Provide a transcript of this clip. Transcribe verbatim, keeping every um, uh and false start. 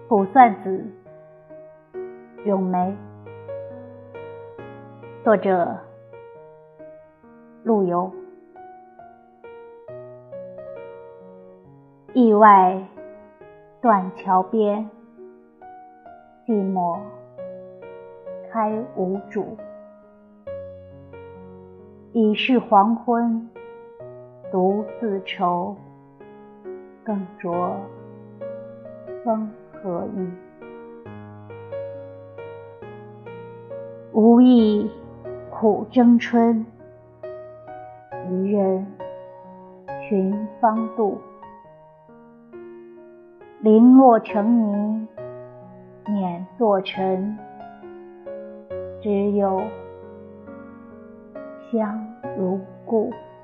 卜算子·咏梅，作者陆游。驿外断桥边，寂寞开无主。已是黄昏，独自愁，更着风和意。无意苦争春，一人寻芳杜。零落成泥碾作尘，只有香如故。